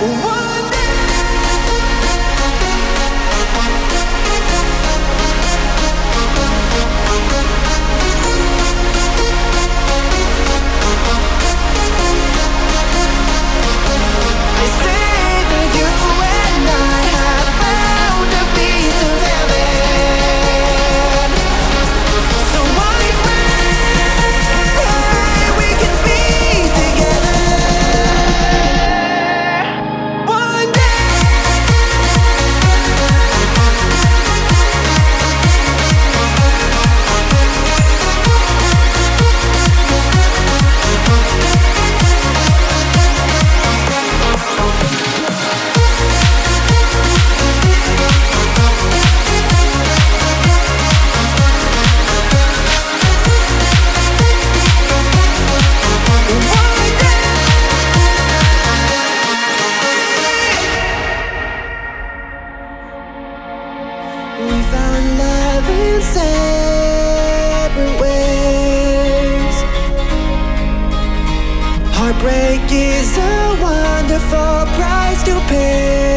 We found love in separate ways. Heartbreak is a wonderful price to pay. We found love in separate ways. Heartbreak is a wonderful price to pay. We found love in separate ways. We found love in separate ways. We found love in separate ways. Heartbreak is a wonderful price to pay. We found love in separate ways. Heartbreak is a wonderful price to pay.